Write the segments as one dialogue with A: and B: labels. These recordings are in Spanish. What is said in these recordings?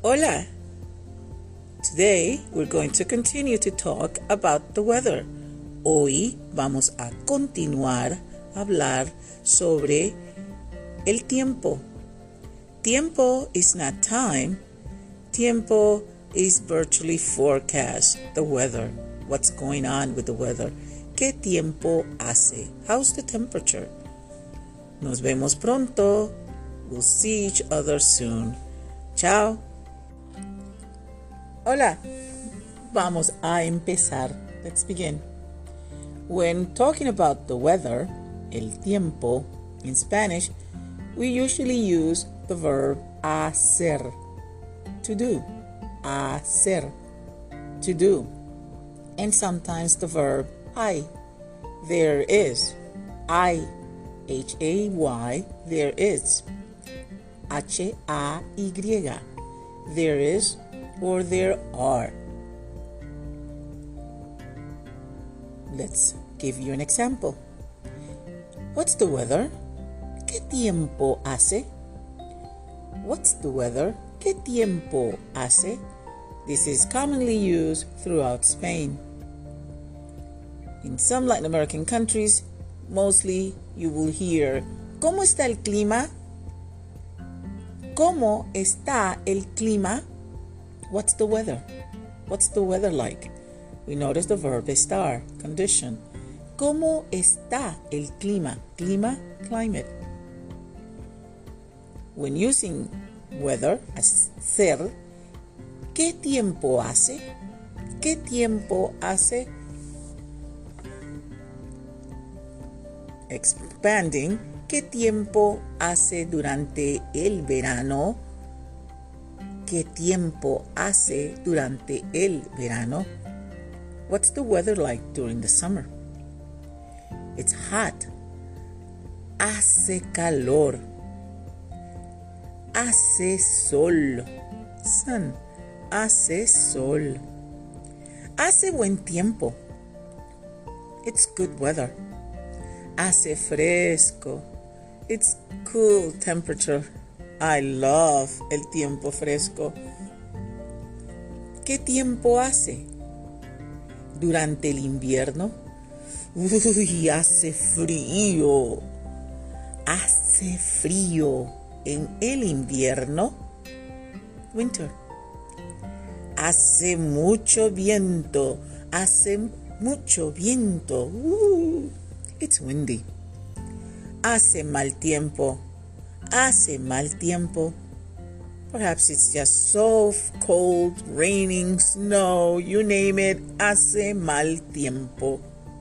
A: Hola! Today we're going to continue to talk about the weather. Hoy vamos a continuar a hablar sobre el tiempo. Tiempo is not time. Tiempo is virtually forecast, the weather. What's going on with the weather? ¿Qué tiempo hace? How's the temperature? Nos vemos pronto. We'll see each other soon. Chao. Hola. Vamos a empezar. Let's begin. When talking about the weather, el tiempo, in Spanish, we usually use the verb hacer, to do. Hacer, to do. And sometimes the verb hay, there is. Hay, H-A-Y, there is. H-A-Y, there is or there are. Let's give you an example. What's the weather? ¿Qué tiempo hace? What's the weather? ¿Qué tiempo hace? This is commonly used throughout Spain. In some Latin American countries, mostly you will hear, ¿cómo está el clima? ¿Cómo está el clima? What's the weather? What's the weather like? We notice the verb estar, condition. ¿Cómo está el clima? Clima, climate. When using weather as ser, ¿qué tiempo hace? ¿Qué tiempo hace? Expanding, ¿qué tiempo hace durante el verano? ¿Qué tiempo hace durante el verano? What's the weather like during the summer? It's hot. Hace calor. Hace sol. Sun. Hace sol. Hace buen tiempo. It's good weather. Hace fresco. It's cool temperature. I love el tiempo fresco. ¿Qué tiempo hace? Durante el invierno. Uy, hace frío. Hace frío en el invierno. Winter. Hace mucho viento. Hace mucho viento. It's windy. Hace mal tiempo. Hace mal tiempo. Perhaps it's just so cold, raining, snow, you name it. Hace mal tiempo.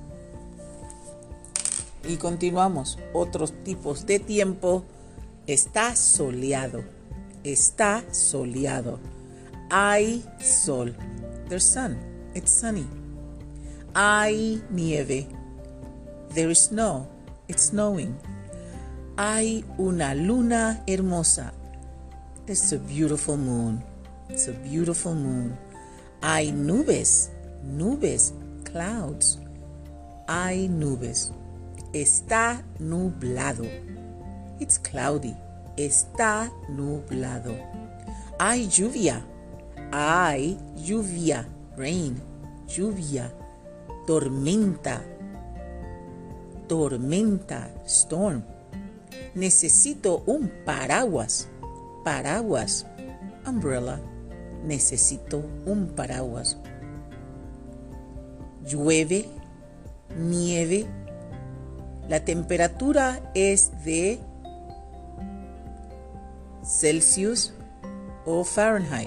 A: Y continuamos. Otros tipos de tiempo. Está soleado. Está soleado. Hay sol. There's sun. It's sunny. Hay nieve. There is snow. It's snowing. Hay una luna hermosa. It's a beautiful moon. It's a beautiful moon. Hay nubes. Nubes. Clouds. Hay nubes. Está nublado. It's cloudy. Está nublado. Hay lluvia. Hay lluvia. Rain. Lluvia. Tormenta. Tormenta. Storm. Necesito un paraguas. Paraguas. Umbrella. Necesito un paraguas. Llueve. Nieve. La temperatura es de Celsius o Fahrenheit.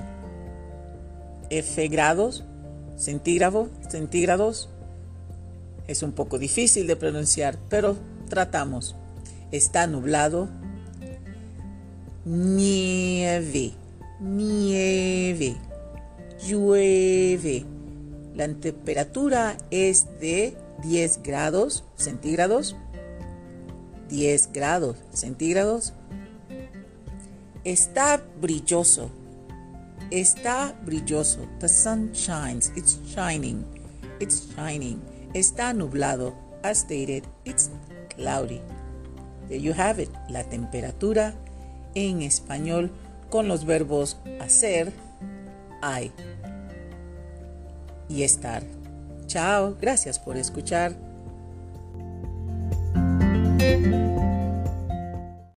A: F grados. Centígrados. Es un poco difícil de pronunciar, pero tratamos. Está nublado. Nieve. Nieve. Llueve. La temperatura es de 10 grados centígrados. 10 grados centígrados. Está brilloso. Está brilloso. The sun shines. It's shining. It's shining. Está nublado. As stated, it's cloudy. There you have it. La temperatura en español con los verbos hacer, hay y estar. Chao, gracias por escuchar.